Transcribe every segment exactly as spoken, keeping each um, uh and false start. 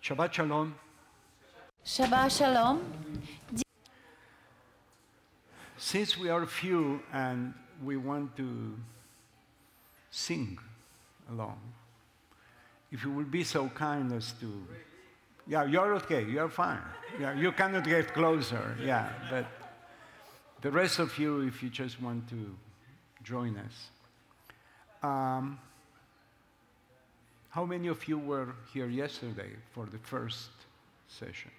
Shabbat Shalom. Shabbat Shalom. Since we are few and we want to sing along, if you will be so kind as to, yeah, you're okay, you're fine. Yeah, you cannot get closer, yeah, but the rest of you, if you just want to join us. Um, how many of you were here yesterday for the first session?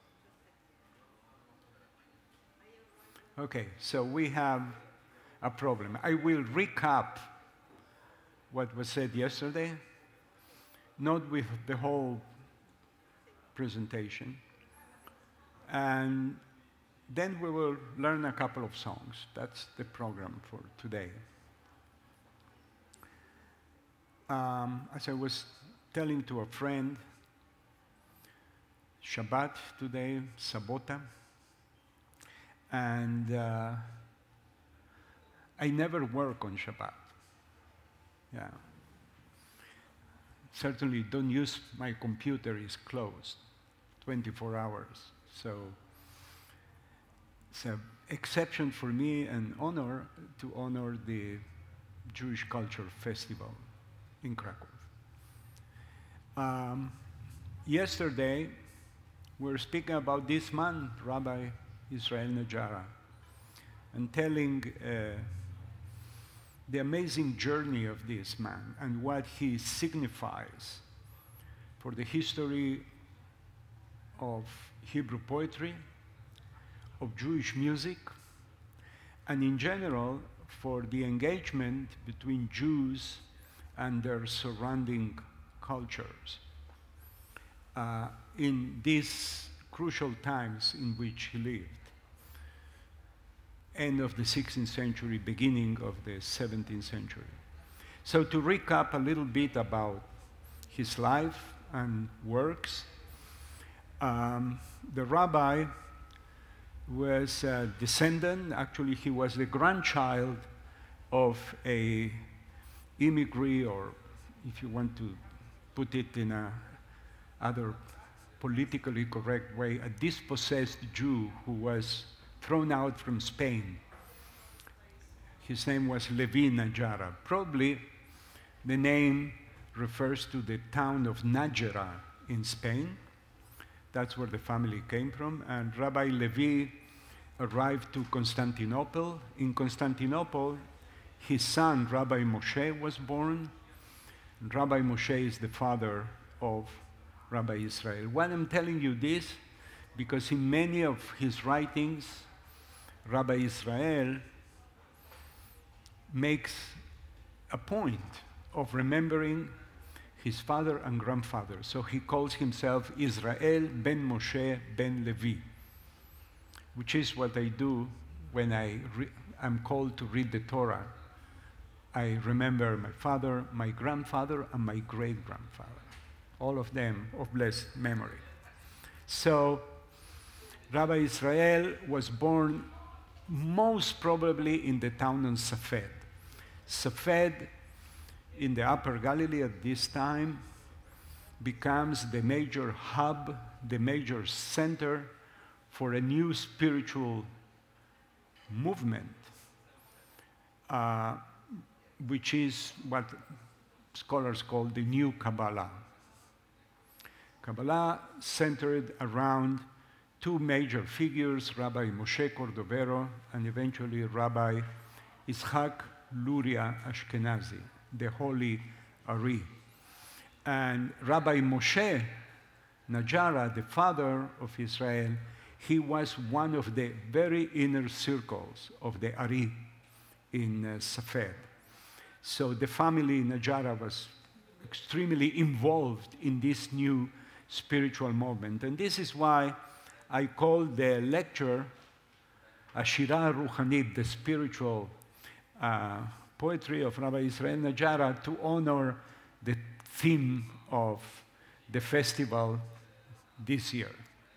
Okay, so we have a problem. I will recap what was said yesterday, not with the whole presentation, and then we will learn a couple of songs. That's the program for today. Um, as I was telling to a friend, Shabbat today, Sabota, and uh, I never work on Shabbat. Yeah. Certainly don't use my computer, is closed twenty-four hours. So it's an exception for me, an honor to honor the Jewish Culture Festival in Krakow. Um, yesterday, we were speaking about this man, Rabbi Israel Najara, and telling uh, the amazing journey of this man and what he signifies for the history of Hebrew poetry, of Jewish music, and in general for the engagement between Jews and their surrounding cultures uh, in these crucial times in which he lived. End of the sixteenth century, beginning of the seventeenth century. So to recap a little bit about his life and works, um, the rabbi was a descendant, actually he was the grandchild of a immigrant, or if you want to put it in a other politically correct way, a dispossessed Jew who was thrown out from Spain. His name was Levi Najara. Probably the name refers to the town of Nájera in Spain. That's where the family came from. And Rabbi Levi arrived to Constantinople. In Constantinople, his son, Rabbi Moshe, was born. And Rabbi Moshe is the father of Rabbi Israel. Why I'm telling you this? Because in many of his writings, Rabbi Israel makes a point of remembering his father and grandfather. So he calls himself Israel ben Moshe ben Levi, which is what I do when I re- am called to read the Torah. I remember my father, my grandfather, and my great-grandfather, all of them of blessed memory. So Rabbi Israel was born most probably in the town of Safed. Safed, in the Upper Galilee at this time, becomes the major hub, the major center for a new spiritual movement, uh, which is what scholars call the New Kabbalah. Kabbalah centered around two major figures, Rabbi Moshe Cordovero and eventually Rabbi Yitzhak Luria Ashkenazi, the Holy Ari. And Rabbi Moshe Najara, the father of Israel, he was one of the very inner circles of the Ari in uh, Safed. So the family Najara was extremely involved in this new spiritual movement. And this is why I call the lecture Ashira Ruhanit, the spiritual uh, poetry of Rabbi Israel Najara, to honor the theme of the festival this year.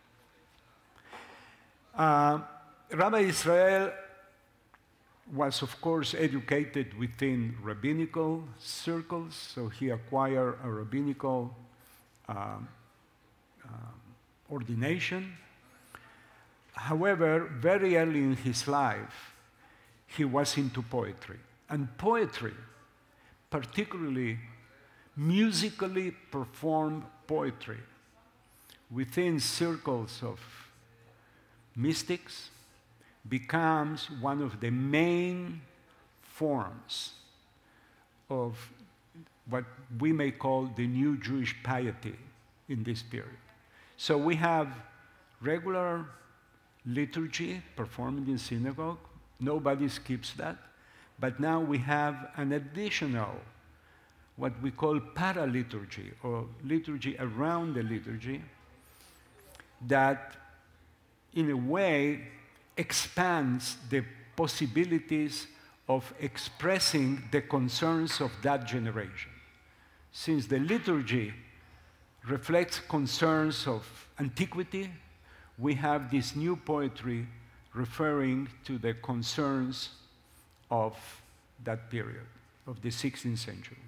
Uh, Rabbi Israel was, of course, educated within rabbinical circles, so he acquired a rabbinical uh, um, ordination. However, very early in his life, he was into poetry. And poetry, particularly musically performed poetry, within circles of mystics, becomes one of the main forms of what we may call the new Jewish piety in this period. So we have regular liturgy performed in synagogue. Nobody skips that. But now we have an additional, what we call paraliturgy, or liturgy around the liturgy, that in a way expands the possibilities of expressing the concerns of that generation. Since the liturgy reflects concerns of antiquity, we have this new poetry referring to the concerns of that period, of the sixteenth century.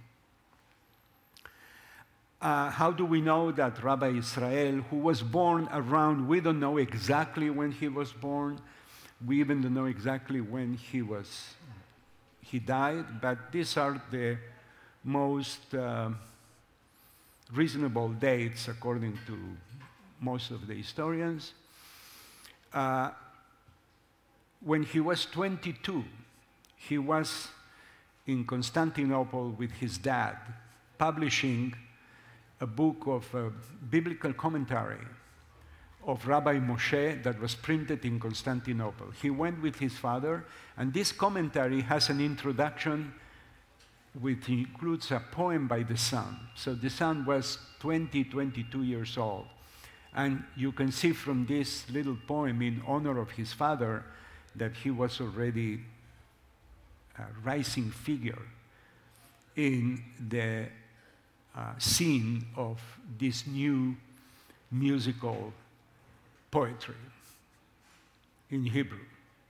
Uh, how do we know that Rabbi Israel, who was born around, we don't know exactly when he was born, we even don't know exactly when he was, he died, but these are the most uh, reasonable dates according to most of the historians. Uh, when he was twenty-two, he was in Constantinople with his dad, publishing a book of uh, biblical commentary of Rabbi Moshe that was printed in Constantinople. He went with his father, and this commentary has an introduction which includes a poem by the son. So the son was twenty, twenty-two years old. And you can see from this little poem in honor of his father that he was already a rising figure in the uh, scene of this new musical poetry in Hebrew.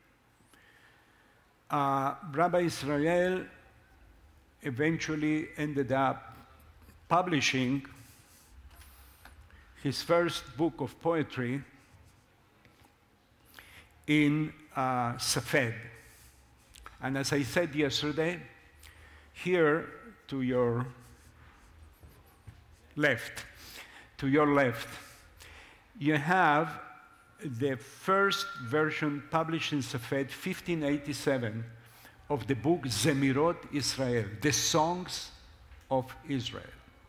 Uh, Rabbi Israel eventually ended up publishing his first book of poetry in uh, Safed. And as I said yesterday, here to your left, to your left, you have the first version published in Safed, fifteen eighty-seven, of the book Zemirot Israel, the Songs of Israel.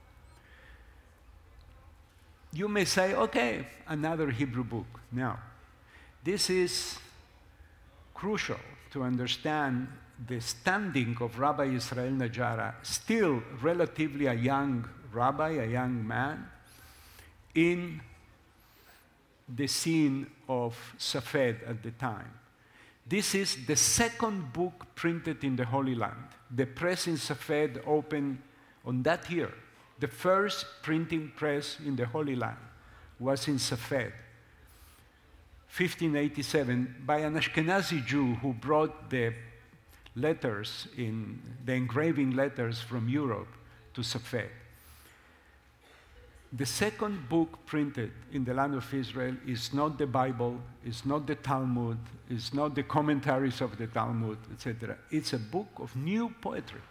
You may say, okay, another Hebrew book. No. This is crucial to understand the standing of Rabbi Israel Najara, still relatively a young rabbi, a young man, in the scene of Safed at the time. This is the second book printed in the Holy Land. The press in Safed opened on that year. The first printing press in the Holy Land was in Safed, fifteen eighty-seven, by an Ashkenazi Jew who brought the letters, in the engraving letters from Europe to Safed. The second book printed in the land of Israel is not the Bible, is not the Talmud, is not the commentaries of the Talmud, et cetera. It's a book of new poetry.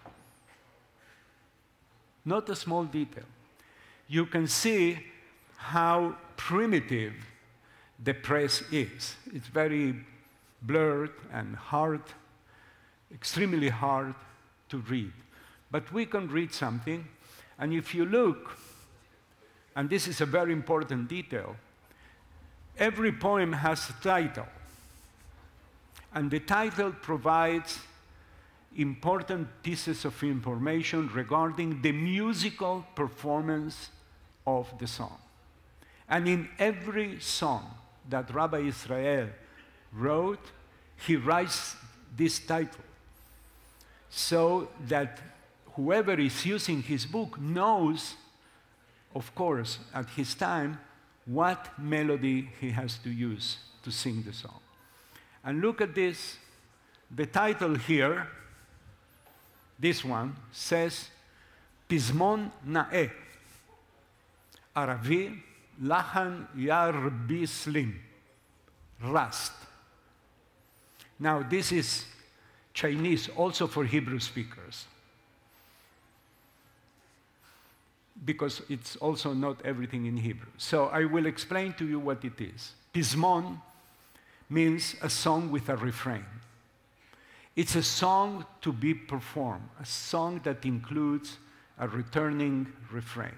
Not a small detail. You can see how primitive the press is. It's very blurred and hard, extremely hard to read. But we can read something, and if you look, and this is a very important detail, every poem has a title, and the title provides important pieces of information regarding the musical performance of the song. And in every song that Rabbi Israel wrote, he writes this title, so that whoever is using his book knows, of course, at his time, what melody he has to use to sing the song. And look at this. The title here, this one, says, Pizmon Na'eh, Aravi, Lahan Ya Rabbi Slim, Rast. Now, this is Chinese also for Hebrew speakers, because it's also not everything in Hebrew. So I will explain to you what it is. Pizmon means a song with a refrain. It's a song to be performed, a song that includes a returning refrain.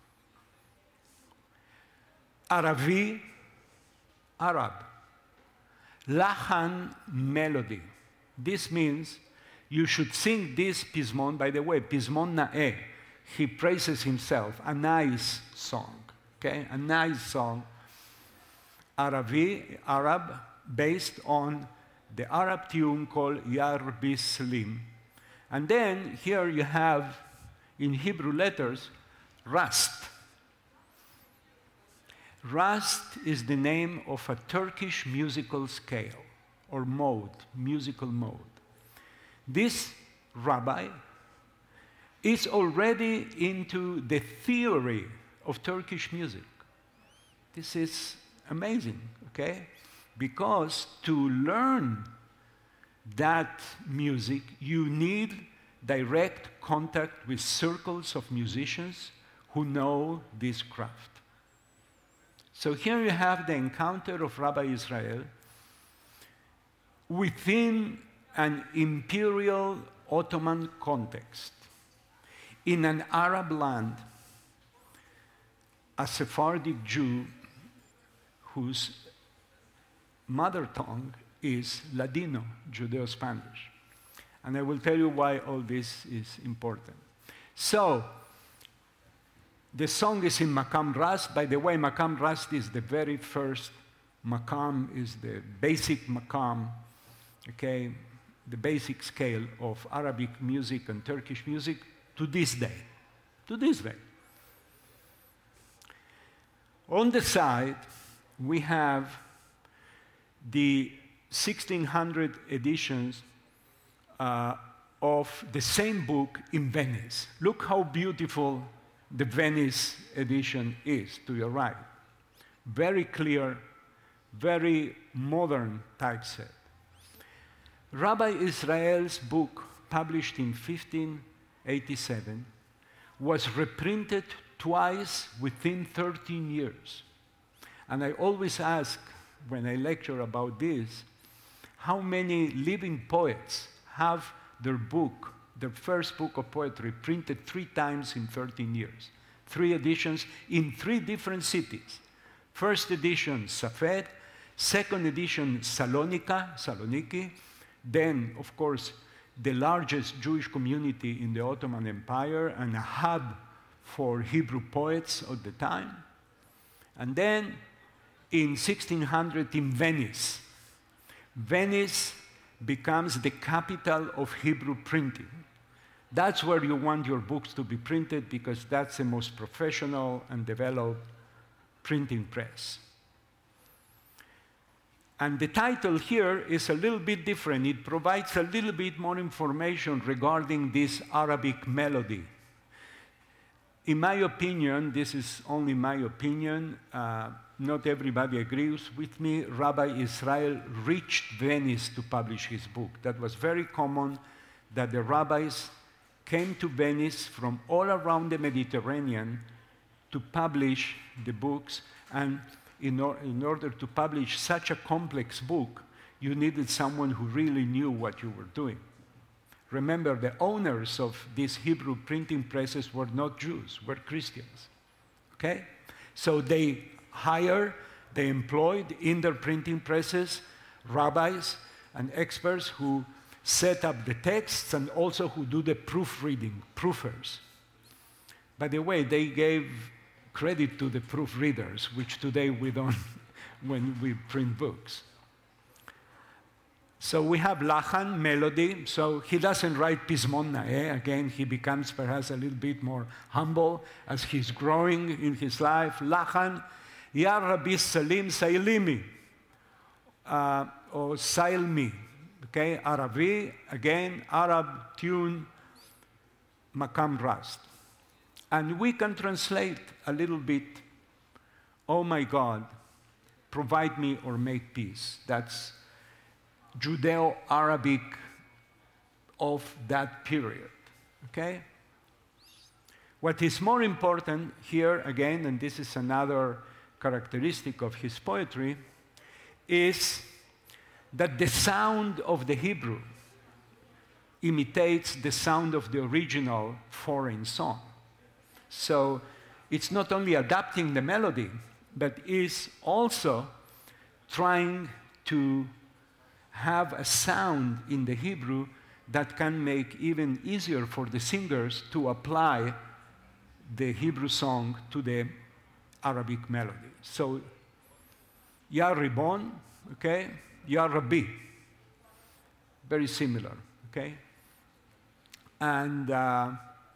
Aravi, Arab. Lahan, melody. This means you should sing this Pizmon. By the way, Pizmon Na'eh, he praises himself, a nice song, okay? A nice song. Aravi, Arab, based on the Arab tune called Ya Rabbi Slim. And then here you have, in Hebrew letters, Rast. Rast is the name of a Turkish musical scale, or mode, musical mode. This rabbi is already into the theory of Turkish music. This is amazing, okay? Because to learn that music, you need direct contact with circles of musicians who know this craft. So here you have the encounter of Rabbi Israel within an imperial Ottoman context, in an Arab land, a Sephardic Jew whose mother tongue is Ladino, Judeo-Spanish. And I will tell you why all this is important. So, the song is in Makam Rast. By the way, Makam Rast is the very first Makam, is the basic Makam, okay, the basic scale of Arabic music and Turkish music to this day, to this day. On the side, we have the sixteen hundred editions uh, of the same book in Venice. Look how beautiful the Venice edition is to your right. Very clear, very modern typeset. Rabbi Israel's book, published in fifteen eighty-seven, was reprinted twice within thirteen years. And I always ask, when I lecture about this, how many living poets have their book, their first book of poetry, printed three times in thirteen years. Three editions in three different cities. First edition, Safed. Second edition, Salonika, Saloniki. Then, of course, the largest Jewish community in the Ottoman Empire and a hub for Hebrew poets of the time. And then, in sixteen hundred, in Venice. Venice becomes the capital of Hebrew printing. That's where you want your books to be printed, because that's the most professional and developed printing press. And the title here is a little bit different. It provides a little bit more information regarding this Arabic melody. In my opinion, this is only my opinion, uh, not everybody agrees with me, Rabbi Israel reached Venice to publish his book. That was very common, that the rabbis came to Venice from all around the Mediterranean to publish the books, and in, or, in order to publish such a complex book, you needed someone who really knew what you were doing. Remember, the owners of these Hebrew printing presses were not Jews, were Christians, okay? So they hired, they employed in their printing presses rabbis and experts who set up the texts and also who do the proofreading, proofers. By the way, they gave credit to the proofreaders, which today we don't when we print books. So we have Lahan, melody. So he doesn't write Pizmon Na'eh. Again, he becomes perhaps a little bit more humble as he's growing in his life. Lahan, Ya Rabbi Salim Sailimi, uh, or Sailmi. Okay, Arabi, again, Arab tune, Makam Rast. And we can translate a little bit "Oh my God, provide me or make peace." That's Judeo-Arabic of that period, okay? What is more important here, again, and this is another characteristic of his poetry, is that the sound of the Hebrew imitates the sound of the original foreign song. So it's not only adapting the melody, but is also trying to have a sound in the Hebrew that can make even easier for the singers to apply the Hebrew song to the Arabic melody. So, Ya Ribon, okay, Ya Rabbi, very similar, okay? And uh,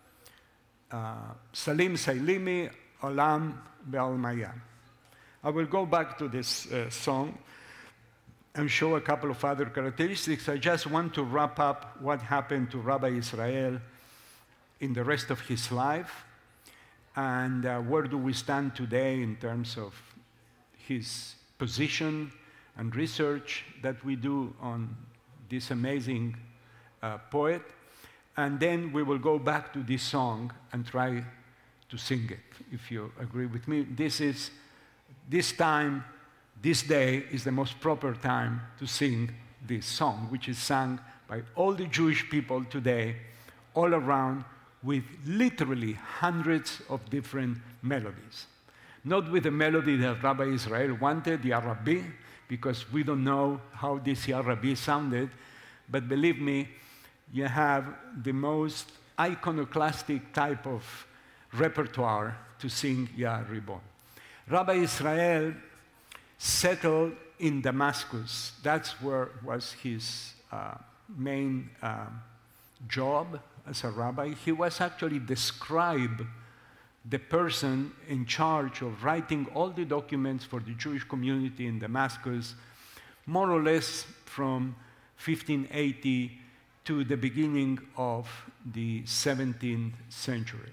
uh, Salim Sailimi, Olam Be'almaya. I will go back to this uh, song and show a couple of other characteristics. I just want to wrap up what happened to Rabbi Israel in the rest of his life, and uh, where do we stand today in terms of his position and research that we do on this amazing uh, poet. And then we will go back to this song and try to sing it, if you agree with me. This is, this time, this day is the most proper time to sing this song, which is sung by all the Jewish people today, all around, with literally hundreds of different melodies. Not with the melody that Rabbi Israel wanted, Ya Rabbi, because we don't know how this Ya Rabbi sounded, but believe me, you have the most iconoclastic type of repertoire to sing Ya Ribon. Rabbi Israel settled in Damascus. That's where was his uh, main uh, job as a rabbi. He was actually the scribe, the person in charge of writing all the documents for the Jewish community in Damascus, more or less from fifteen eighty to the beginning of the seventeenth century.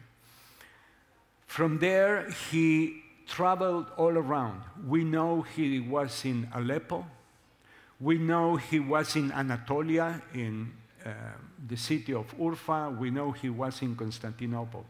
From there, he traveled all around. We know he was in Aleppo. We know he was in Anatolia, in uh, the city of Urfa. We know he was in Constantinople.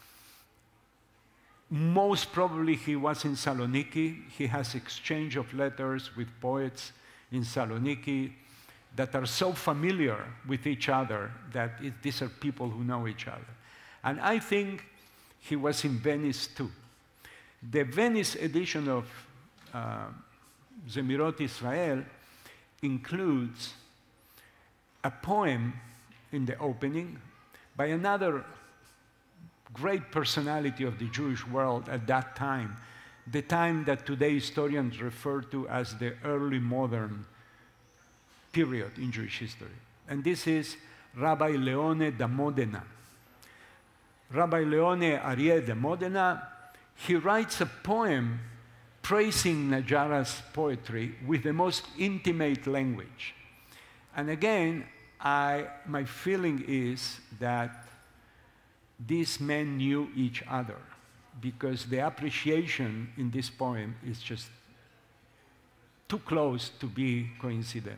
Most probably he was in Saloniki. He has exchange of letters with poets in Saloniki that are so familiar with each other that it, these are people who know each other. And I think he was in Venice too. The Venice edition of uh, Zemirot Israel includes a poem in the opening by another great personality of the Jewish world at that time, the time that today historians refer to as the early modern period in Jewish history. And this is Rabbi Leone da Modena. Rabbi Leone Arie da Modena, he writes a poem praising Najara's poetry with the most intimate language. And again, I, my feeling is that these men knew each other, because the appreciation in this poem is just too close to be coincidental.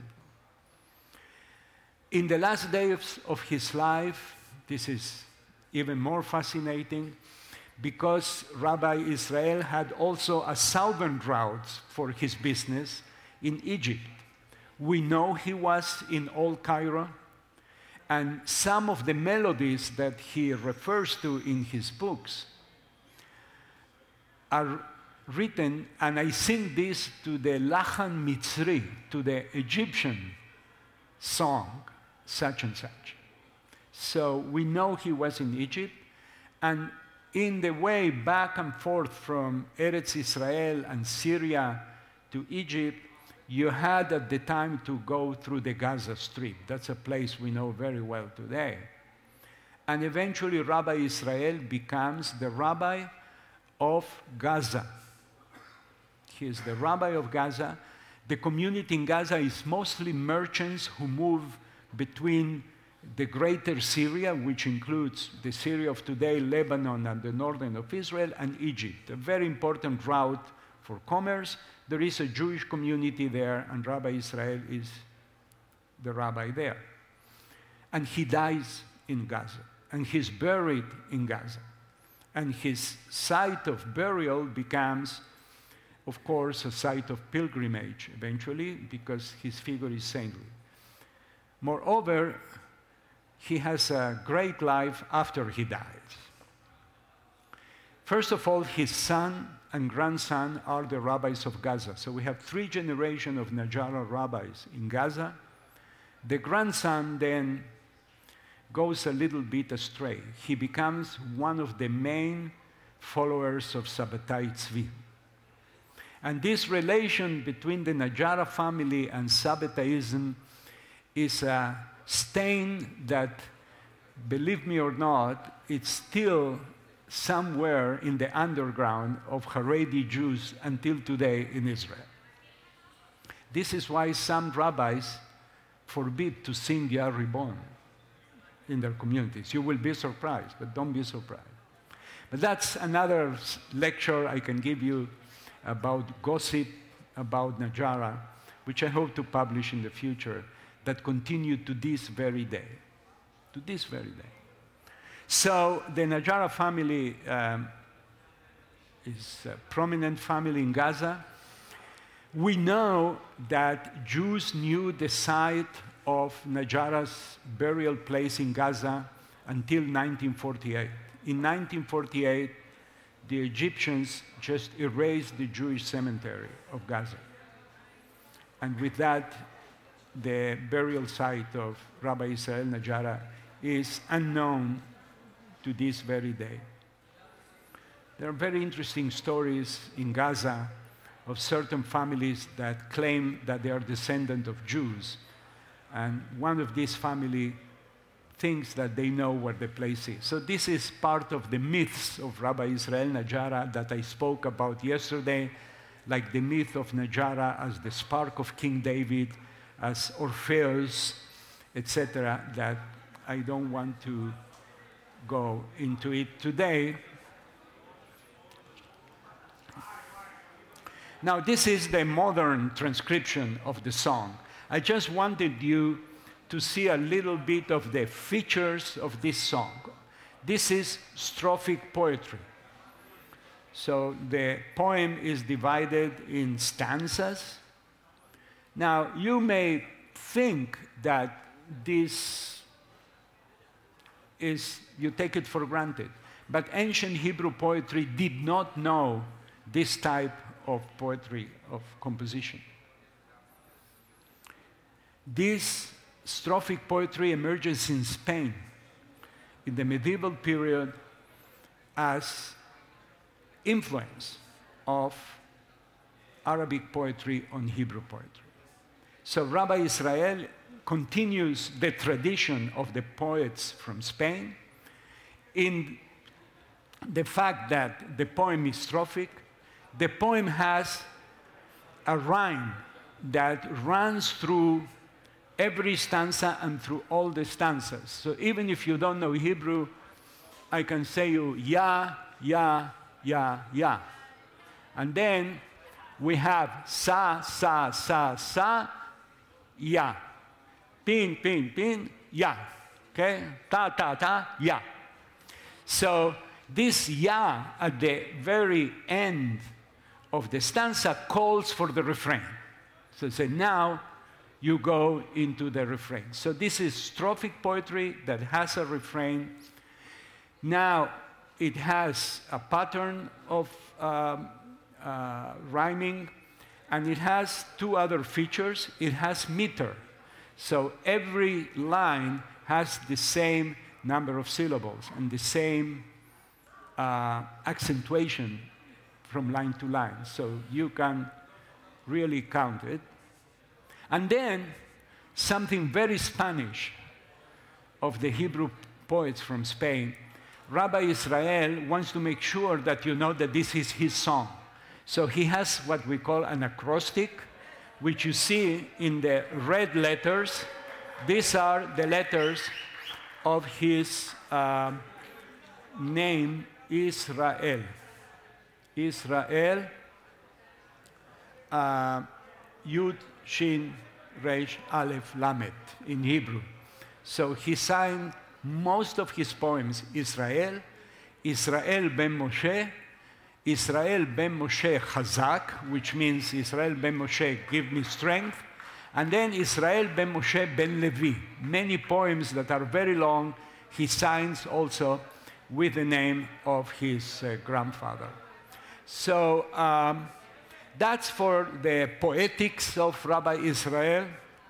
In the last days of his life, this is even more fascinating, because Rabbi Israel had also a southern route for his business in Egypt. We know he was in Old Cairo, and some of the melodies that he refers to in his books are written, and I sing this to the Lachan Mitzri, to the Egyptian song, such and such. So we know he was in Egypt, and in the way back and forth from Eretz Israel and Syria to Egypt, you had at the time to go through the Gaza Strip. That's a place we know very well today. And eventually Rabbi Israel becomes the rabbi of Gaza. He is the rabbi of Gaza. The community in Gaza is mostly merchants who move between the greater Syria, which includes the Syria of today, Lebanon, and the northern of Israel, and Egypt, a very important route for commerce. There is a Jewish community there, and Rabbi Israel is the rabbi there. And he dies in Gaza, and he's buried in Gaza. And his site of burial becomes, of course, a site of pilgrimage eventually, because his figure is saintly. Moreover, he has a great life after he dies. First of all, his son and grandson are the rabbis of Gaza. So we have three generations of Najara rabbis in Gaza. The grandson then goes a little bit astray. He becomes one of the main followers of Sabbatai Tzvi. And this relation between the Najara family and Sabbataism is a stain that, believe me or not, it's still somewhere in the underground of Haredi Jews until today in Israel. This is why some rabbis forbid to sing Yah Ribon in their communities. You will be surprised, but don't be surprised. But that's another lecture I can give you about gossip about Najara, which I hope to publish in the future, that continue to this very day. To this very day. So the Najara family um, is a prominent family in Gaza. We know that Jews knew the site of Najara's burial place in Gaza until nineteen forty-eight. In nineteen forty-eight, the Egyptians just erased the Jewish cemetery of Gaza. And with that, the burial site of Rabbi Israel Najara is unknown to this very day. There are very interesting stories in Gaza of certain families that claim that they are descendants of Jews. And one of these families thinks that they know where the place is. So this is part of the myths of Rabbi Israel Najara that I spoke about yesterday, like the myth of Najara as the spark of King David, as Orpheus, et cetera, that I don't want to go into it today. Now, this is the modern transcription of the song. I just wanted you to see a little bit of the features of this song. This is strophic poetry. So the poem is divided in stanzas. Now, you may think that this is, you take it for granted, but ancient Hebrew poetry did not know this type of poetry, of composition. This strophic poetry emerges in Spain in the medieval period as influence of Arabic poetry on Hebrew poetry. So Rabbi Israel continues the tradition of the poets from Spain in the fact that the poem is strophic. The poem has a rhyme that runs through every stanza and through all the stanzas. So even if you don't know Hebrew, I can say you, ya, ya, ya, ya. And then we have sa, sa, sa, sa, ya. Pin, pin, pin, ya. Okay? Ta, ta, ta, ya. So this ya at the very end of the stanza calls for the refrain. So say, now you go into the refrain. So this is strophic poetry that has a refrain. Now it has a pattern of um, uh, rhyming, and it has two other features. It has meter. So every line has the same number of syllables and the same uh, accentuation from line to line. So you can really count it. And then something very Spanish of the Hebrew poets from Spain. Rabbi Israel wants to make sure that you know that this is his song. So he has what we call an acrostic, which you see in the red letters. These are the letters of his uh, name, Israel. Israel, uh, Yud, Shin, Resh, Aleph, Lamed in Hebrew. So he signed most of his poems Israel, Israel ben Moshe, Israel ben Moshe Chazak, which means Israel ben Moshe, give me strength, and then Israel ben Moshe ben Levi. Many poems that are very long, he signs also with the name of his uh, grandfather. So um, that's for the poetics of Rabbi Israel.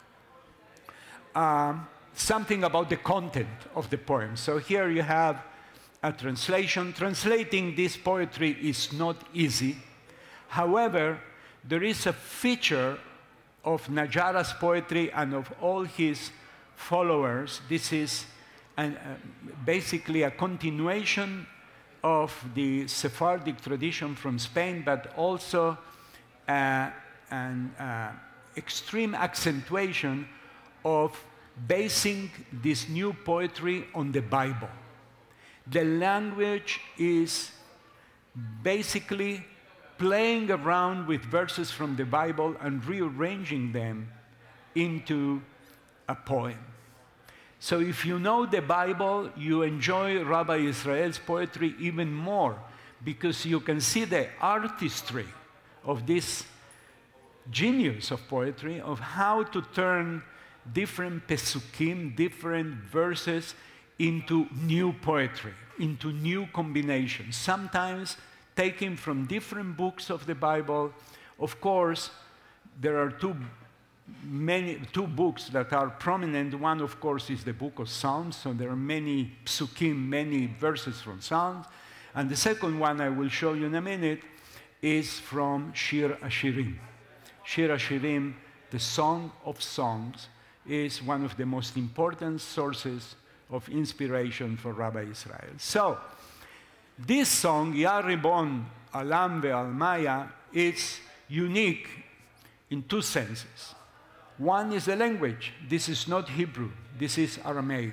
Um, something about the content of the poem. So here you have a translation. Translating this poetry is not easy. However, there is a feature of Najara's poetry and of all his followers. This is an, uh, basically a continuation of the Sephardic tradition from Spain, but also uh, an uh, extreme accentuation of basing this new poetry on the Bible. The language is basically playing around with verses from the Bible and rearranging them into a poem. So if you know the Bible, you enjoy Rabbi Israel's poetry even more because you can see the artistry of this genius of poetry, of how to turn different pesukim, different verses into new poetry, into new combinations, sometimes taken from different books of the Bible. Of course, there are two, many, two books that are prominent. One, of course, is the book of Psalms, so there are many psukim, many verses from Psalms. And the second one I will show you in a minute is from Shir Hashirim. Shir Hashirim, the Song of Songs, is one of the most important sources of inspiration for Rabbi Israel. So, this song, Ya Ribon Alam Ve'almaya, is unique in two senses. One is the language. This is not Hebrew. This is Aramaic.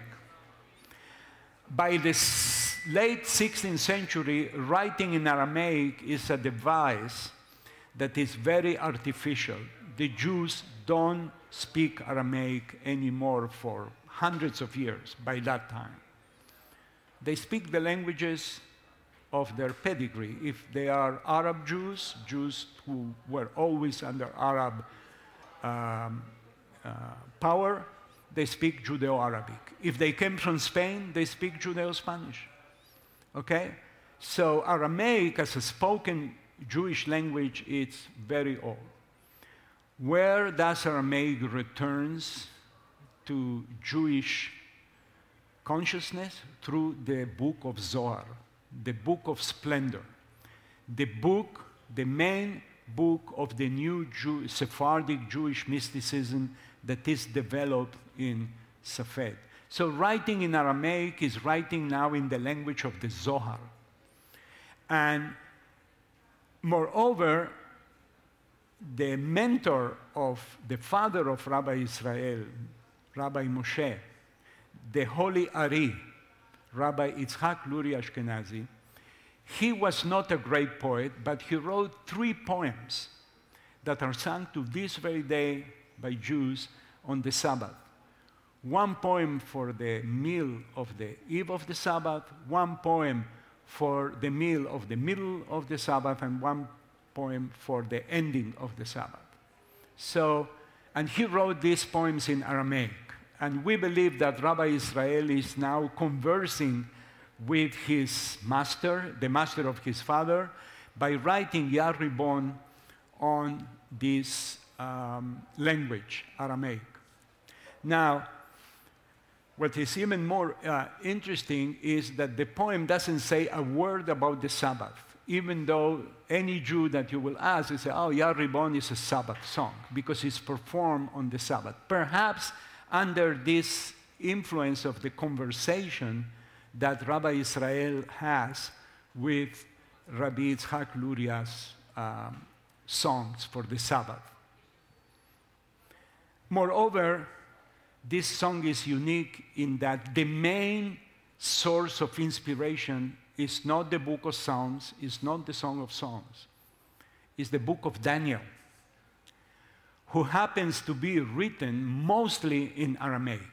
By the s- late sixteenth century, writing in Aramaic is a device that is very artificial. The Jews don't speak Aramaic anymore for hundreds of years by that time. They speak the languages of their pedigree. If they are Arab Jews, Jews who were always under Arab um, uh, power, they speak Judeo-Arabic. If they came from Spain, they speak Judeo-Spanish. Okay? So Aramaic as a spoken Jewish language is very old. Where does Aramaic returns to Jewish consciousness? Through the book of Zohar, the book of splendor, the book, the main book of the new Jew, Sephardic Jewish mysticism that is developed in Safed. So writing in Aramaic is writing now in the language of the Zohar. And moreover, the mentor of the father of Rabbi Israel, Rabbi Moshe, the Holy Ari, Rabbi Yitzhak Luri Ashkenazi, he was not a great poet, but he wrote three poems that are sung to this very day by Jews on the Sabbath. One poem for the meal of the eve of the Sabbath, one poem for the meal of the middle of the Sabbath, and one poem for the ending of the Sabbath. So, and he wrote these poems in Aramaic. And we believe that Rabbi Israel is now conversing with his master, the master of his father, by writing Ya Ribon on this um, language, Aramaic. Now, what is even more uh, interesting is that the poem doesn't say a word about the Sabbath, even though any Jew that you will ask will say, oh, Ya Ribon is a Sabbath song, because it's performed on the Sabbath. Perhaps under this influence of the conversation that Rabbi Israel has with Rabbi Yitzhak Luria's um, songs for the Sabbath. Moreover, this song is unique in that the main source of inspiration is not the book of Psalms, is not the Song of Songs, it's the book of Daniel. who happens to be written mostly in Aramaic.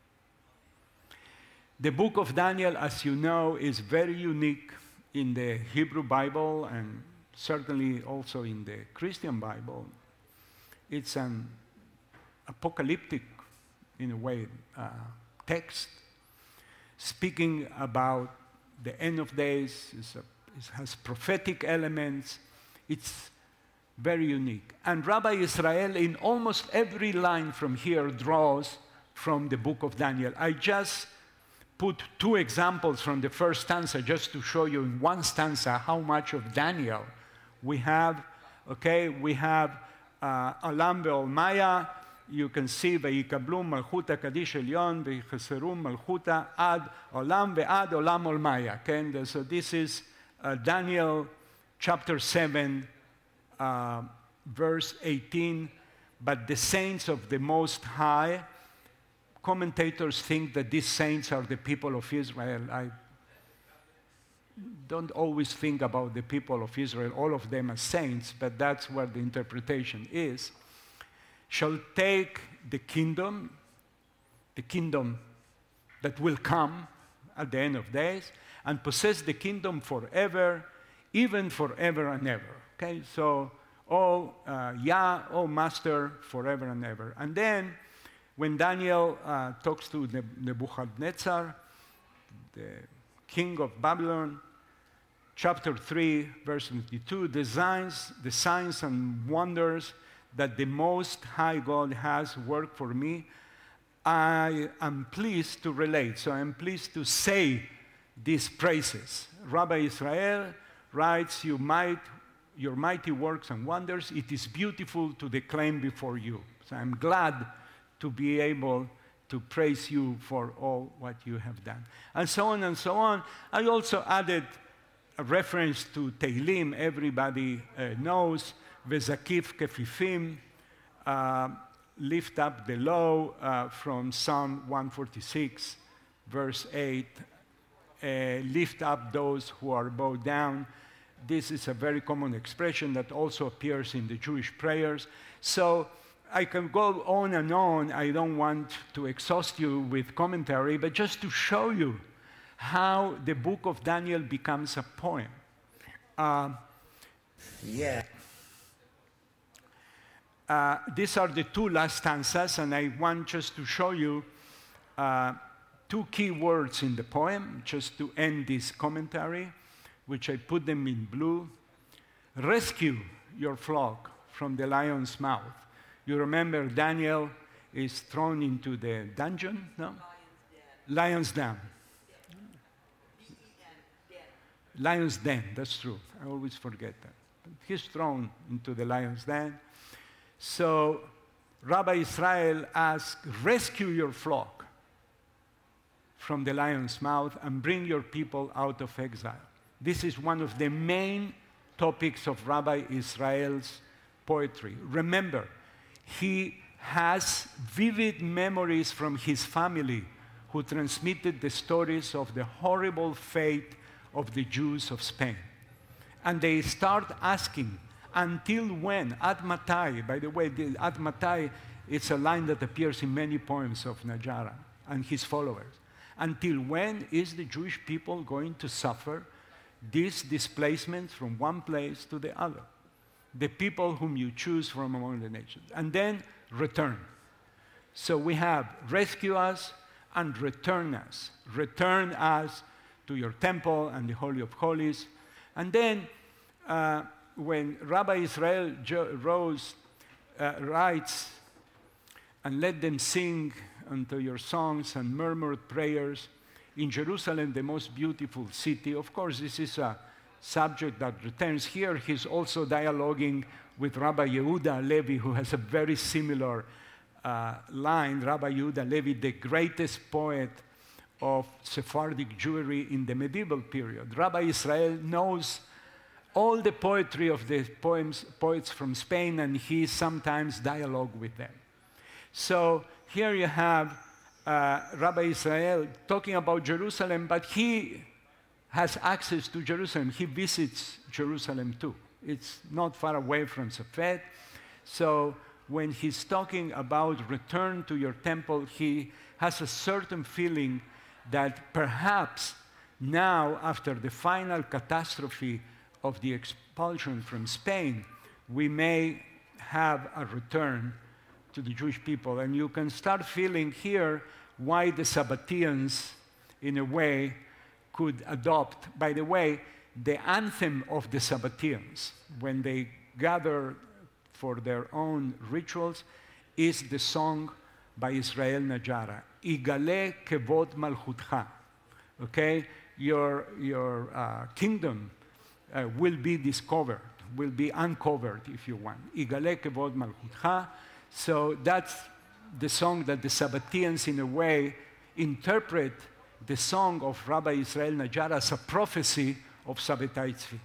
The book of Daniel, as you know, is very unique in the Hebrew Bible and certainly also in the Christian Bible. It's an apocalyptic, in a way, uh, text speaking about the end of days. It's a, it has prophetic elements. It's very unique. And Rabbi Israel, in almost every line from here, draws from the book of Daniel. I just put two examples from the first stanza just to show you in one stanza how much of Daniel we have. Okay, we have uh, Olam ve'olmaya. You can see ve'ikablum malchuta kadish elyon ve'cheserum malchuta ad olam ve'ad olam olmaya. Okay, so this is uh, Daniel chapter seven, uh, verse eighteen. But the saints of the Most High, commentators think that these saints are the people of Israel. I don't always think about the people of Israel, all of them as saints, but that's what the interpretation is. Shall take the kingdom, the kingdom that will come at the end of days, and possess the kingdom forever, even forever and ever. Okay, so, oh uh, Yah, oh Master, forever and ever. And then, when Daniel uh, talks to Nebuchadnezzar, the king of Babylon, chapter three, verse twenty-two, the signs, the signs and wonders that the Most High God has worked for me, I am pleased to relate. So I am pleased to say these praises. Rabbi Israel writes, you might, your mighty works and wonders, it is beautiful to declaim before you. So I'm glad to be able to praise you for all what you have done. And so on and so on. I also added a reference to Tehillim, everybody uh, knows, Vezakif Kefifim, uh, lift up the low, uh, from Psalm one forty-six, verse eight, uh, lift up those who are bowed down. This is a very common expression that also appears in the Jewish prayers. So I can go on and on. I don't want to exhaust you with commentary, but just to show you how the book of Daniel becomes a poem. Uh, yeah. Uh, these are the two last stanzas, and I want just to show you uh, two key words in the poem, just to end this commentary, which I put them in blue. Rescue your flock from the lion's mouth. You remember Daniel is thrown into the dungeon, no? Lion's Den. Lion's Den, that's true. I always forget that. He's thrown into the lion's den. So Rabbi Israel asked, rescue your flock from the lion's mouth and bring your people out of exile. This is one of the main topics of Rabbi Israel's poetry. Remember, he has vivid memories from his family who transmitted the stories of the horrible fate of the Jews of Spain. And they start asking, until when? Ad matai, by the way, the ad matai, it's a line that appears in many poems of Najara and his followers. Until when is the Jewish people going to suffer this displacement from one place to the other? The people whom you choose from among the nations. And then return. So we have rescue us and return us. Return us to your temple and the Holy of Holies. And then uh, when Rabbi Israel jo- rose, uh, writes, and let them sing unto your songs and murmured prayers in Jerusalem, the most beautiful city. Of course, this is a subject that returns here. He's also dialoguing with Rabbi Yehuda Levi, who has a very similar uh, line. Rabbi Yehuda Levi, the greatest poet of Sephardic Jewry in the medieval period. Rabbi Israel knows all the poetry of the poems, poets from Spain, and he sometimes dialogue with them. So here you have uh, Rabbi Israel talking about Jerusalem, but he has access to Jerusalem. He visits Jerusalem too. It's not far away from Safed. So when he's talking about return to your temple, he has a certain feeling that perhaps now, after the final catastrophe of the expulsion from Spain, we may have a return to the Jewish people. And you can start feeling here why the Sabbateans, in a way, could adopt. By the way, the anthem of the Sabbateans, when they gather for their own rituals, is the song by Israel Najara, Igale Kevod Malchutcha. Okay? Your, your uh, kingdom uh, will be discovered, will be uncovered, if you want. Igale Kevod Malchutcha. So that's the song that the Sabbateans, in a way, interpret the song of Rabbi Israel Najara as a prophecy of Sabbatai Tzvi.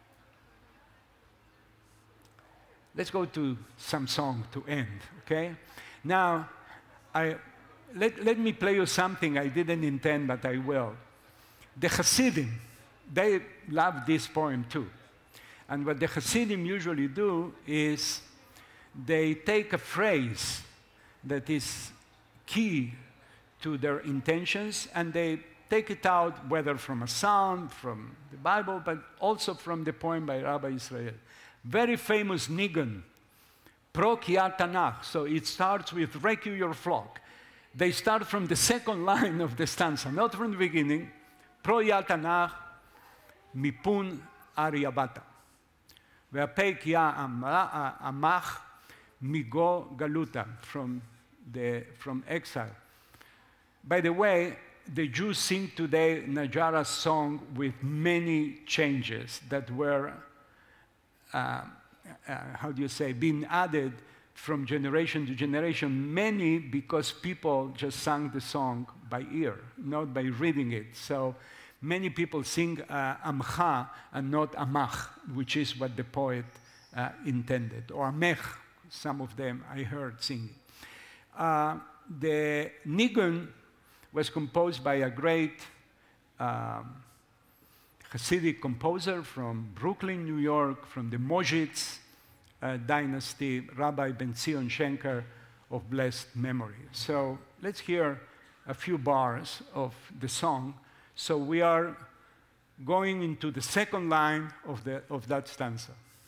Let's go to some song to end, okay? Now, I, let, let me play you something I didn't intend, but I will. The Hasidim, they love this poem too. And what the Hasidim usually do is they take a phrase that is key to their intentions, and they take it out, whether from a psalm, from the Bible, but also from the poem by Rabbi Israel. Very famous nigun, Pro Kiat Tanakh. So it starts with Rescue Your Flock. They start from the second line of the stanza, not from the beginning. Pro Kiat Tanakh, Mipun Ariabata. Ve'apei Kia Amach, Migo Galuta, from the from exile. By the way, the Jews sing today Najara's song with many changes that were, uh, uh, how do you say, being added from generation to generation. Many because people just sang the song by ear, not by reading it. So many people sing uh, Amcha and not Amach, which is what the poet uh, intended, or Amech. Some of them I heard singing. Uh, the Nigun was composed by a great um, Hasidic composer from Brooklyn, New York, from the Mozhitz uh, dynasty, Rabbi Ben Zion Schenker of blessed memory. So let's hear a few bars of the song. So we are going into the second line of, the, of that stanza.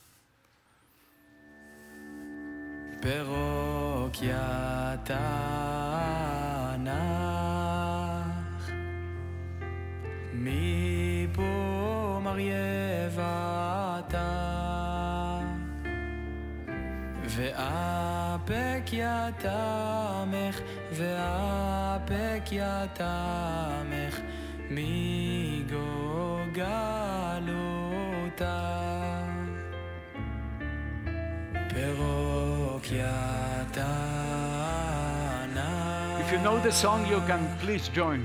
פרוק יתנך מפה מרייבתה ואפק יתמך ואפק יתמך מגוגלותה If you know the song, you can please join.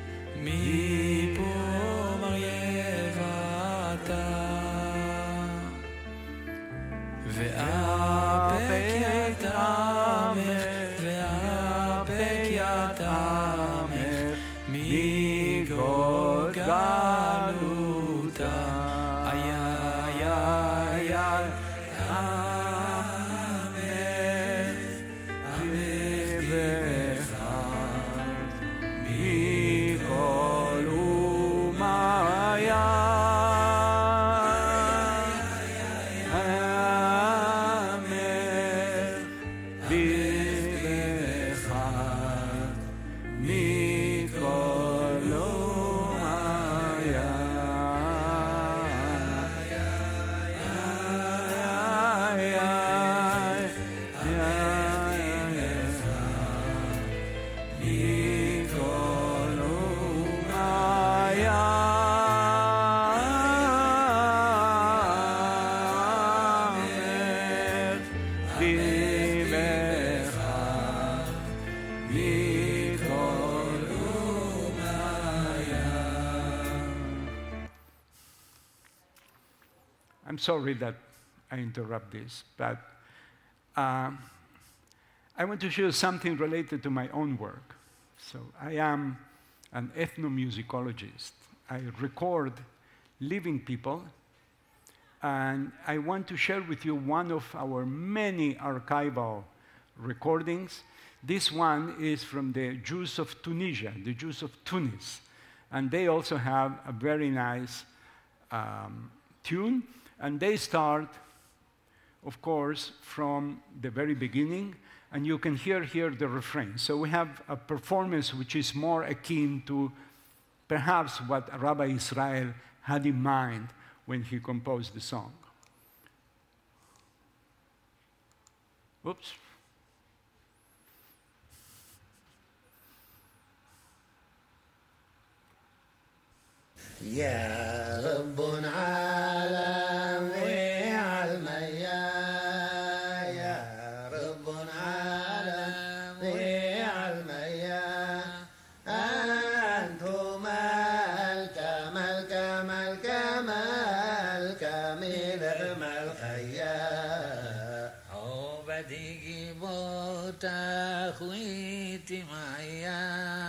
I'm sorry that I interrupt this, but uh, I want to show you something related to my own work. So I am an ethnomusicologist. I record living people, and I want to share with you one of our many archival recordings. This one is from the Jews of Tunisia, the Jews of Tunis. And they also have a very nice um, tune. And they start, of course, from the very beginning. And you can hear here the refrain. So we have a performance which is more akin to perhaps what Rabbi Israel had in mind when he composed the song. Oops. يا رب عالم علميا يا رب عالم علميا أنتم ملك ملك ملك ملك ملك ملكيا عبدي بوتا خويتي معيا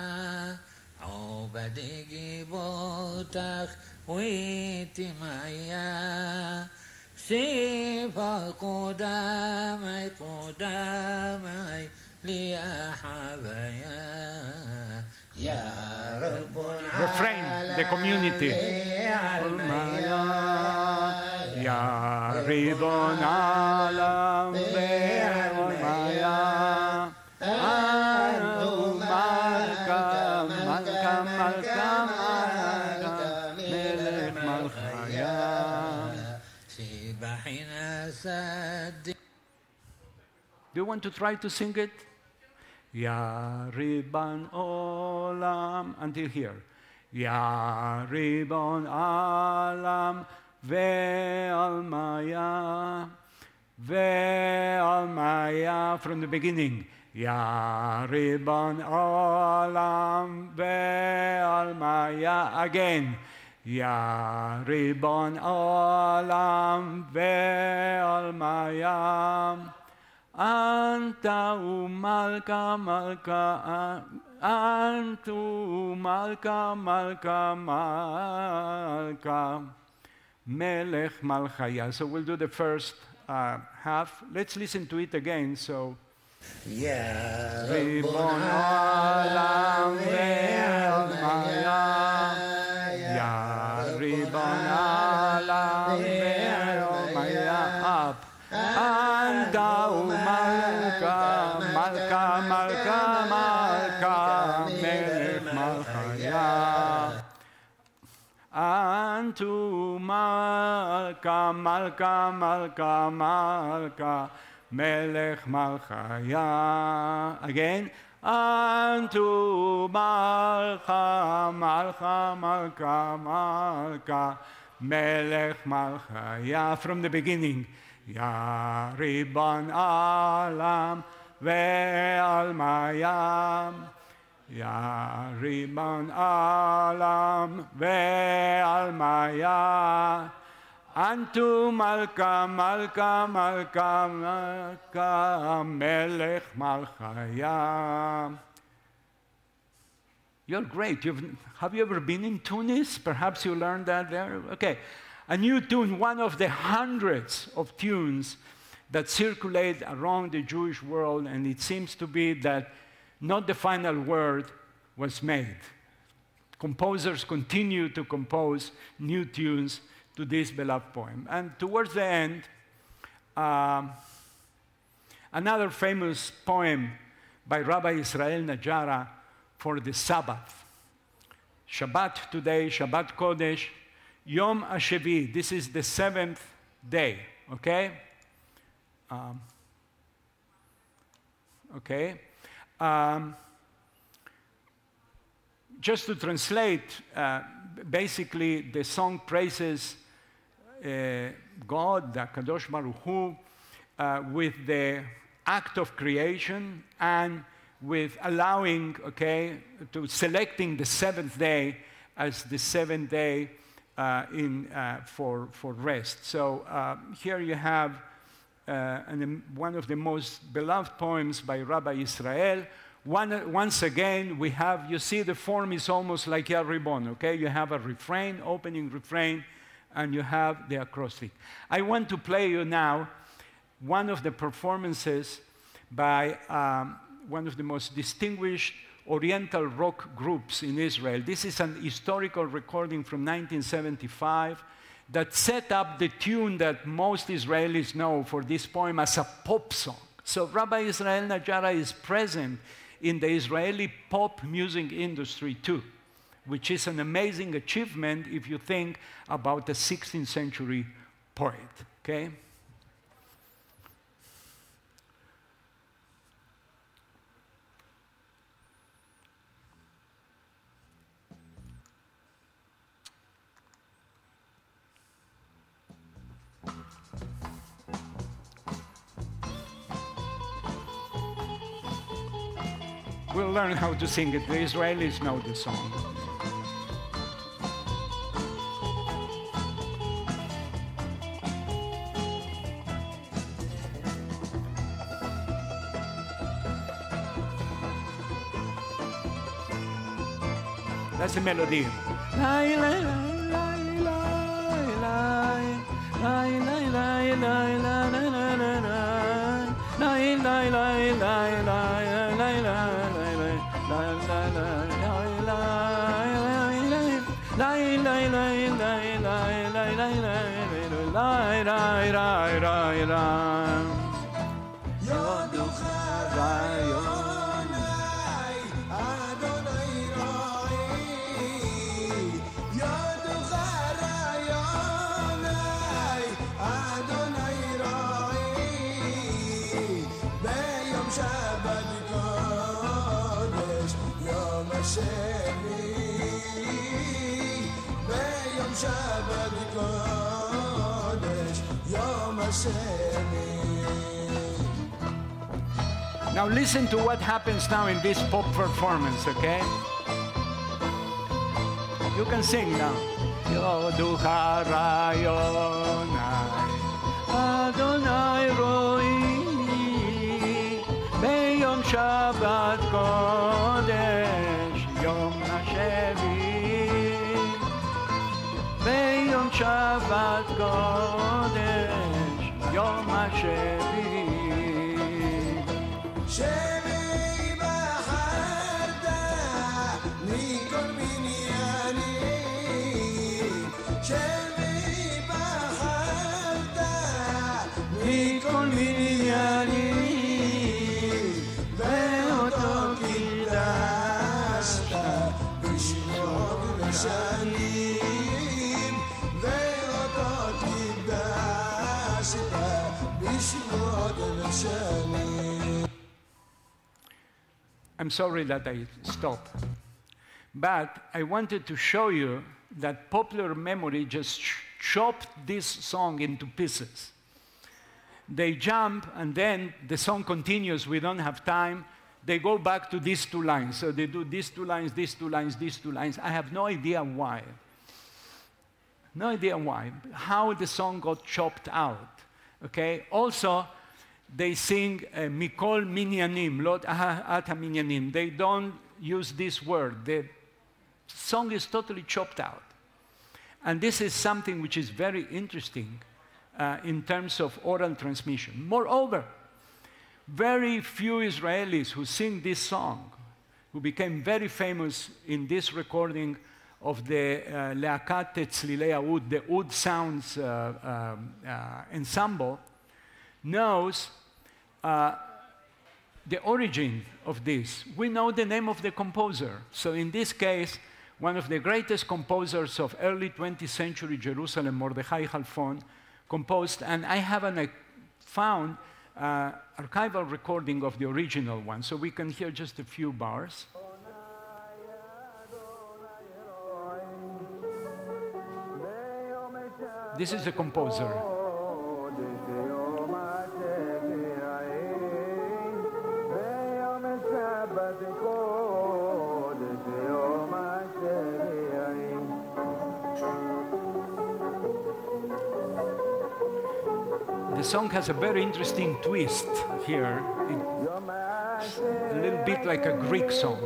عبدي بوتاخ ويتي معيا سيفا قدامي قدامي لي حبايا يا رب Refrain, the community. يا رضا العالم والمايا أنتم ملكا ملكا ملكا ملكا ملك ملخيا سبحنا سد. Do you want to try to sing it? Ya Riban Olam, until here. Ya Riban Olam ve'almaya, ve'almaya, from the beginning. Ya Riban Olam ve'almaya, again. Ya Riban Olam ve'almaya. Anta umalka malka, antu malka malka malka, melech malchaya. So we'll do the first uh, half. Let's listen to it again. So, يا Ribon رب olam ve'almaya, Ya Ribon olam ve'almaya, up. Anta umalka malka malka malka melech malchaya. Antu malka malka malka malka melech malchaya. Again. Antu malka malka malka malka melech malchaya. From the beginning. Ya Riban Alam ve'almayam, Ya Riban Alam ve'almaya, Antu Malka Malka Malka Malka Melech Malchaya. You're great. You've, have you ever been in Tunis? Perhaps you learned that there? Okay. A new tune, one of the hundreds of tunes that circulate around the Jewish world, and it seems to be that not the final word was made. Composers continue to compose new tunes to this beloved poem. And towards the end, um, another famous poem by Rabbi Israel Najara for the Sabbath. Shabbat today, Shabbat Kodesh, Yom HaShevi, this is the seventh day, okay? Um, okay. Um, just to translate, uh, basically the song praises uh, God, the Kadosh Baruch Hu, uh, with the act of creation and with allowing, okay, to selecting the seventh day as the seventh day Uh, in, uh, for, for rest. So uh, here you have uh, an, one of the most beloved poems by Rabbi Israel. One, once again, we have, you see the form is almost like Ya Ribon, okay? You have a refrain, opening refrain, and you have the acrostic. I want to play you now one of the performances by um, one of the most distinguished Oriental rock groups in Israel. This is an historical recording from nineteen seventy-five that set up the tune that most Israelis know for this poem as a pop song. So Rabbi Israel Najara is present in the Israeli pop music industry too, which is an amazing achievement if you think about the sixteenth century poet, okay? We'll learn how to sing it. The Israelis know the song. That's the melody. Now listen to what happens now in this pop performance, okay? You can sing now. Yoducha rayonai, Adonai roi, beyom Shabbat kodesh, yom hashevi, beyom Shabbat kodesh, yom hashevi. شبي بحدا نيكون بنياني شبي بحدا نيكون بنياني بيوتو كداشتا بشموك بشانيم بيوتو كداشتا بشموك بشانيم. I'm sorry that I stopped. But I wanted to show you that popular memory just ch chopped this song into pieces. They jump, and then the song continues. We don't have time. They go back to these two lines. So they do these two lines, these two lines, these two lines. I have no idea why. No idea why. How the song got chopped out. Okay? Also, they sing uh, Mikol Minyanim, Lot Ata Minyanim. They don't use this word. The song is totally chopped out. And this is something which is very interesting uh, in terms of oral transmission. Moreover, very few Israelis who sing this song, who became very famous in this recording of the uh, Leakat Tzlilei Oud, the Oud Sounds uh, um, uh, ensemble, knows Uh, the origin of this. We know the name of the composer. So in this case, one of the greatest composers of early twentieth century Jerusalem, Mordechai Halfon, composed, and I haven't uh, found uh, archival recording of the original one, so we can hear just a few bars. This is the composer. The song has a very interesting twist here. It's a little bit like a Greek song.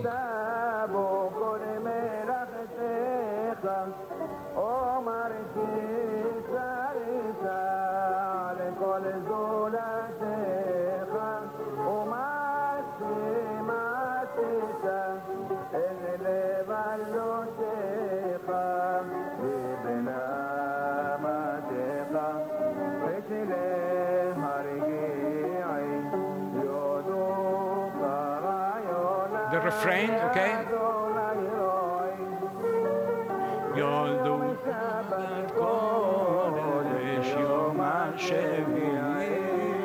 refrain, okay? Yoldu kodesh yom ha-shevi'i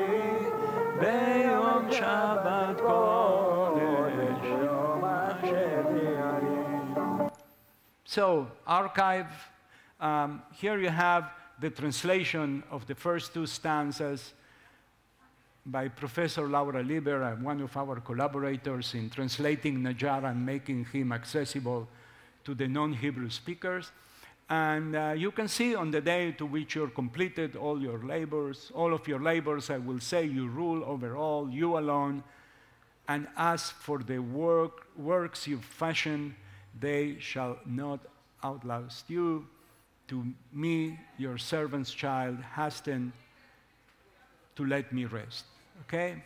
beyom Shabbat kodesh yom ha-shevi'i. So, archive, um, here you have the translation of the first two stanzas by Professor Laura Lieber, uh, one of our collaborators in translating Najjar and making him accessible to the non-Hebrew speakers. And uh, you can see on the day to which you're completed all your labors, all of your labors, I will say you rule over all, you alone. And as for the work, works you fashion, they shall not outlast you. To me, your servant's child, hasten to let me rest. Okay?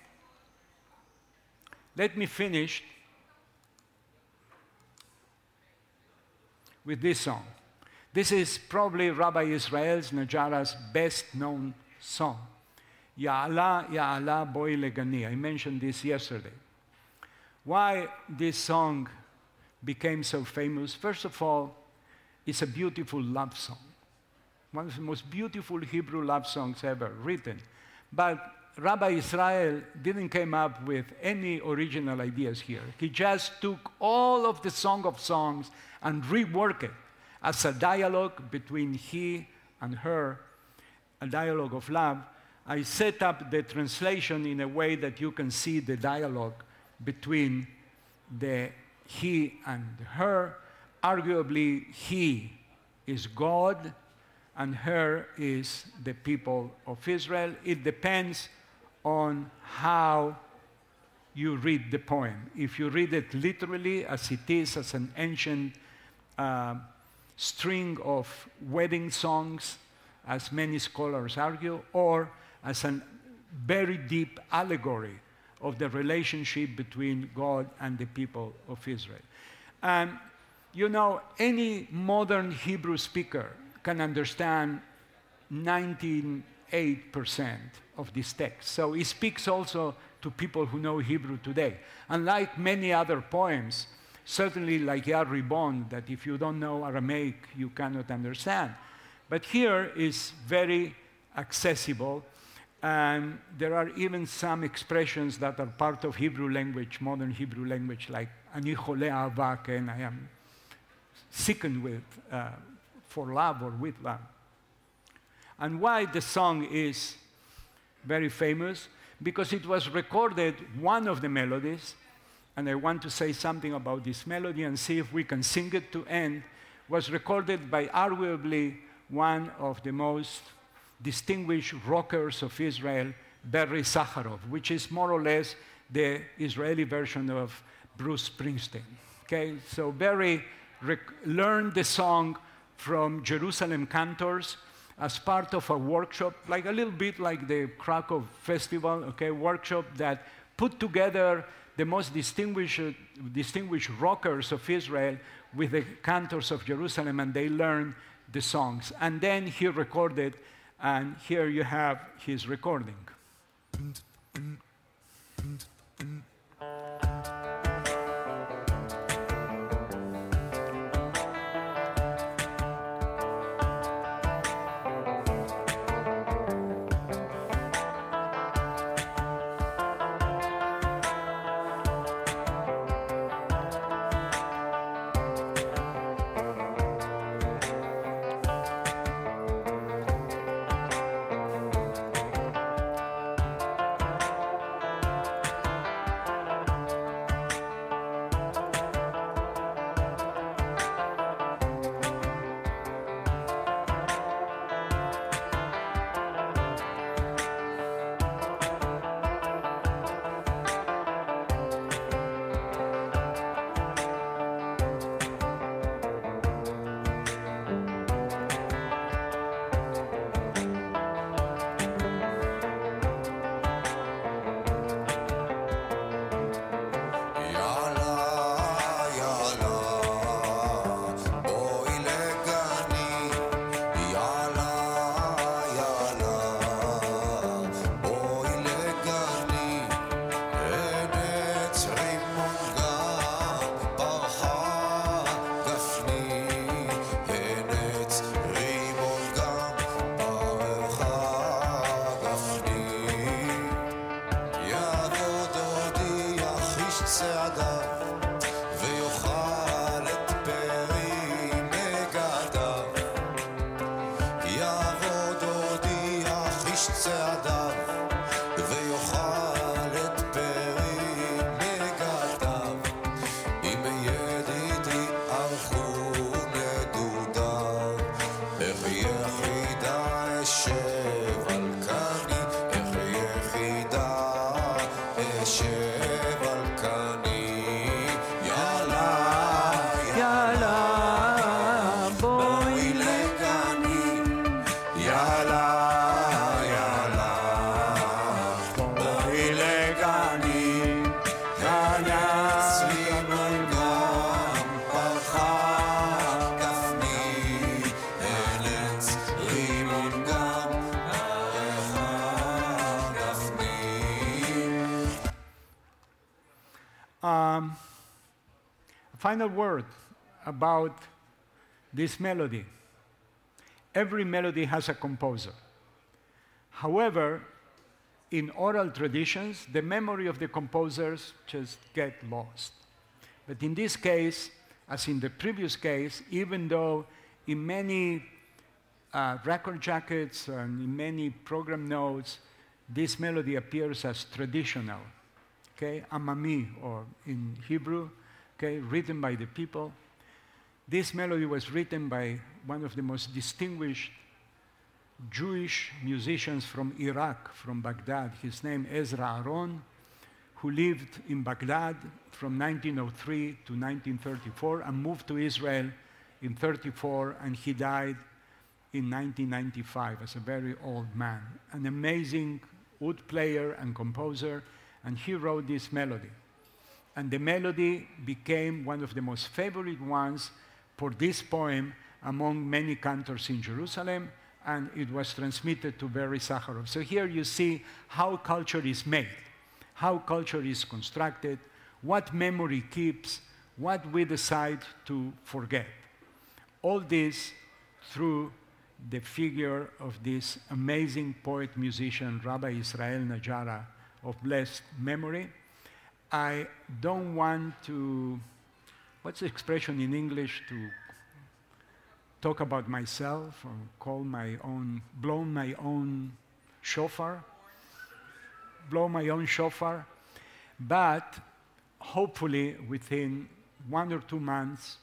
Let me finish with this song. This is probably Rabbi Israel's Najjara's best-known song. Ya'ala, Ya'ala, Boi Legani. I mentioned this yesterday. Why this song became so famous? First of all, it's a beautiful love song. One of the most beautiful Hebrew love songs ever written. But Rabbi Israel didn't come up with any original ideas here. He just took all of the Song of Songs and reworked it as a dialogue between he and her, a dialogue of love. I set up the translation in a way that you can see the dialogue between the he and her. Arguably, he is God, and her is the people of Israel. It depends on how you read the poem. If you read it literally, as it is, as an ancient uh, string of wedding songs, as many scholars argue, or as a very deep allegory of the relationship between God and the people of Israel. And you know, any modern Hebrew speaker can understand ninety-eight percent of this text. So it speaks also to people who know Hebrew today. Unlike many other poems, certainly like Yar Ribon, that if you don't know Aramaic, you cannot understand. But here is very accessible, and there are even some expressions that are part of Hebrew language, modern Hebrew language, like Ani chole ahava, and I am sickened with, uh, for love or with love. And why the song is very famous? Because it was recorded, one of the melodies, and I want to say something about this melody and see if we can sing it to end, was recorded by arguably one of the most distinguished rockers of Israel, Barry Sakharov, which is more or less the Israeli version of Bruce Springsteen. Okay, so Barry rec- learned the song from Jerusalem cantors as part of a workshop, like a little bit like the Krakow Festival, okay, workshop that put together the most distinguished, distinguished rockers of Israel with the cantors of Jerusalem, and they learned the songs. And then he recorded, and here you have his recording. יחידה אשב על קני, איך יחידה אשב על קני. יאללה, יאללה, בואי לגני. יאללה, יאללה, בואי לגני, כנס לימון גם פרחה גפני, ארץ לימון גם פרחה גפני. Um, a final word about this melody. Every melody has a composer. However, in oral traditions, the memory of the composers just get lost. But in this case, as in the previous case, even though in many uh, record jackets and in many program notes, this melody appears as traditional, okay, Amami, or in Hebrew, okay, written by the people. This melody was written by one of the most distinguished Jewish musicians from Iraq, from Baghdad. His name Ezra Aron, who lived in Baghdad from nineteen oh three to nineteen thirty-four and moved to Israel in thirty-four, and he died in nineteen ninety-five as a very old man. An amazing oud player and composer, and he wrote this melody. And the melody became one of the most favorite ones for this poem among many cantors in Jerusalem, and it was transmitted to Barry Sakharov. So here you see how culture is made, how culture is constructed, what memory keeps, what we decide to forget. All this through the figure of this amazing poet-musician, Rabbi Israel Najara, of blessed memory. I don't want to, what's the expression in English, to talk about myself or call my own, blow my own shofar, blow my own shofar, but hopefully within one or two months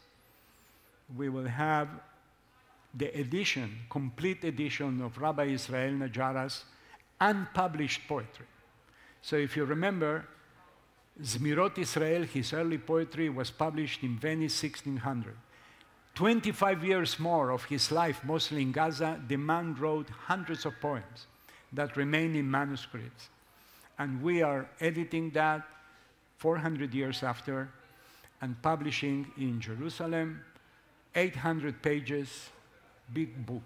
we will have the edition, complete edition of Rabbi Israel Najara's unpublished poetry. So if you remember, Zmirot Israel, his early poetry, was published in Venice sixteen hundred. twenty-five years more of his life, mostly in Gaza, the man wrote hundreds of poems that remain in manuscripts. And we are editing that four hundred years after and publishing in Jerusalem, eight hundred pages, big book.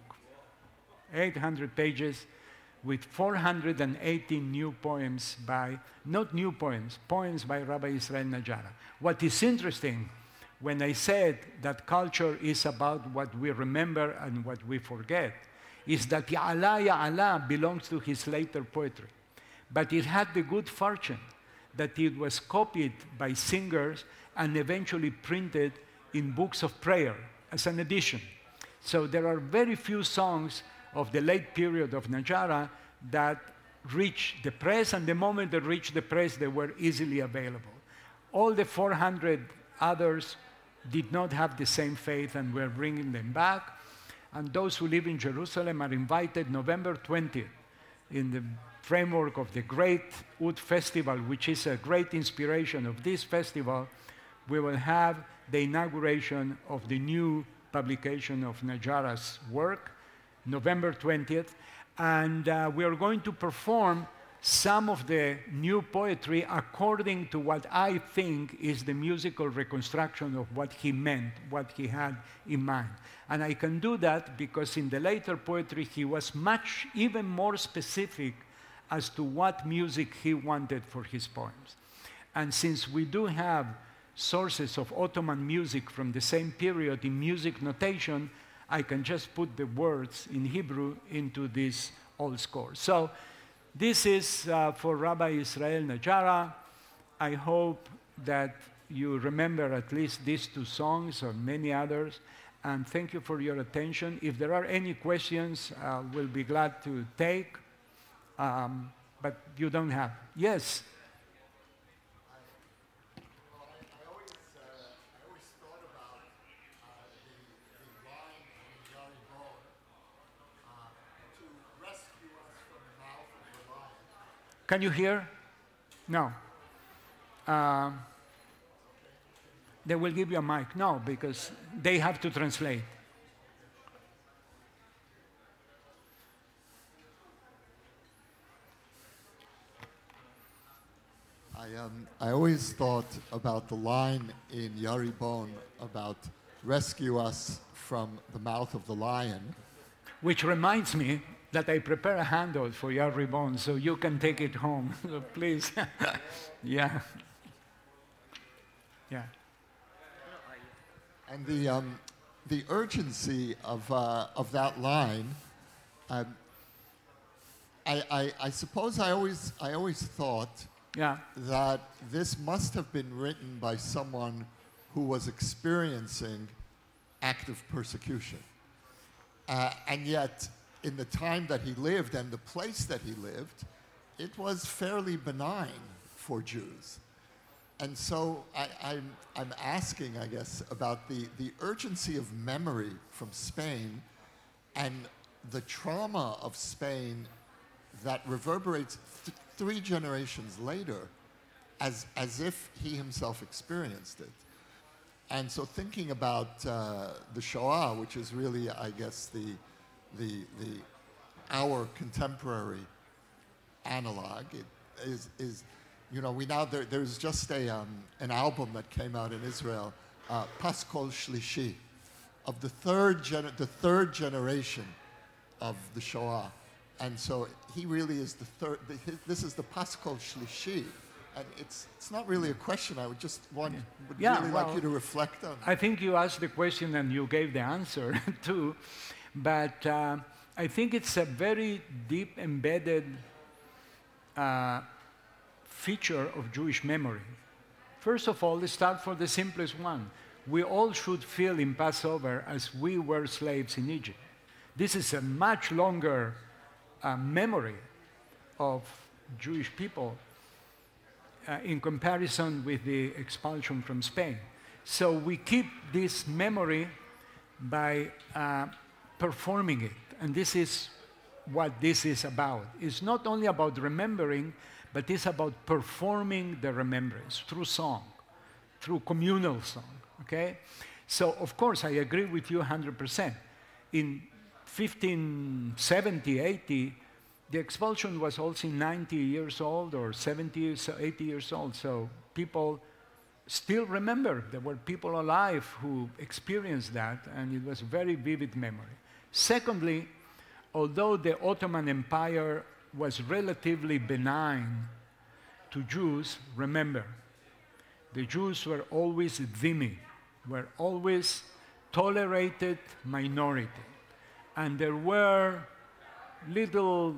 eight hundred pages with four hundred eighty new poems by, not new poems, poems by Rabbi Israel Najara. What is interesting, when I said that culture is about what we remember and what we forget, is that Ya'ala Ya'ala belongs to his later poetry. But it had the good fortune that it was copied by singers and eventually printed in books of prayer as an edition. So there are very few songs of the late period of Najara that reached the press, and the moment they reached the press, they were easily available. All the four hundred others did not have the same faith, and we're bringing them back. And those who live in Jerusalem are invited November twentieth in the framework of the Great Oud Festival, which is a great inspiration of this festival. We will have the inauguration of the new publication of Najara's work, November twentieth, and uh, we are going to perform some of the new poetry according to what I think is the musical reconstruction of what he meant, what he had in mind. And I can do that because in the later poetry he was much, even more specific as to what music he wanted for his poems. And since we do have sources of Ottoman music from the same period in music notation, I can just put the words in Hebrew into this old score. So this is uh, for Rabbi Israel Najara. I hope that you remember at least these two songs or many others, and thank you for your attention. If there are any questions, uh, we'll be glad to take, um, but you don't have. Yes? Can you hear? No. Uh, they will give you a mic. No, because they have to translate. I, um, I always thought about the line in Yaribon about rescue us from the mouth of the lion. Which reminds me that I prepare a handout for your ribbon so you can take it home. So please. Yeah. Yeah. And the, um, the urgency of, uh, of that line, um, I, I, I suppose I always, I always thought Yeah. that this must have been written by someone who was experiencing active persecution. Uh, and yet, in the time that he lived and the place that he lived, it was fairly benign for Jews. And so I, I'm, I'm asking, I guess, about the, the urgency of memory from Spain and the trauma of Spain that reverberates th- three generations later as, as if he himself experienced it. And so thinking about uh, the Shoah, which is really, I guess, the, the, the, our contemporary analog, it is, is you know, we now, there, there's just a, um, an album that came out in Israel, uh, Paschal Shlishi, of the third, gener- the third generation of the Shoah. And so he really is the third, the, his, this is the Paschal Shlishi. And it's, it's not really a question. I would just want, would Yeah, really well, like you to reflect on. I think you asked the question and you gave the answer too. But uh, I think it's a very deep embedded uh, feature of Jewish memory. First of all, let's start for the simplest one. We all should feel in Passover as we were slaves in Egypt. This is a much longer uh, memory of Jewish people uh, in comparison with the expulsion from Spain. So we keep this memory by uh, performing it. And this is what this is about. It's not only about remembering, but it's about performing the remembrance through song, through communal song, okay? So, of course, I agree with you one hundred percent. In fifteen seventy, eighty, the expulsion was also ninety years old or seventy, eighty years old, so people still remember. There were people alive who experienced that, and it was a very vivid memory. Secondly, although the Ottoman Empire was relatively benign to Jews, remember, the Jews were always dhimmi, were always tolerated minority. And there were little,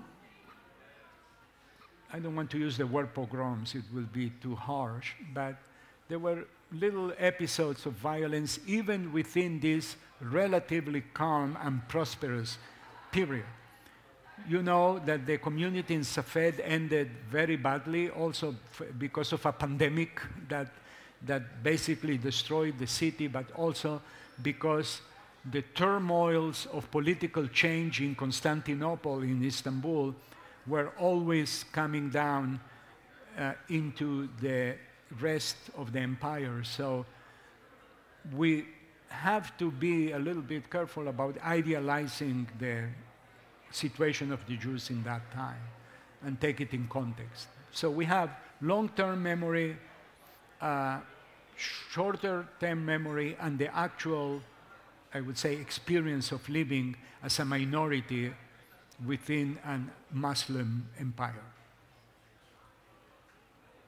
I don't want to use the word pogroms, it will be too harsh, but there were little episodes of violence even within this relatively calm and prosperous period. You know that the community in Safed ended very badly, also f- because of a pandemic that, that basically destroyed the city, but also because the turmoils of political change in Constantinople, in Istanbul, were always coming down uh, into the rest of the empire. So we have to be a little bit careful about idealizing the situation of the Jews in that time and take it in context. So we have long-term memory, uh, shorter-term memory, and the actual, I would say, experience of living as a minority within a Muslim empire.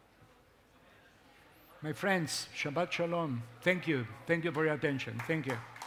My friends, Shabbat Shalom. Thank you. Thank you for your attention. Thank you.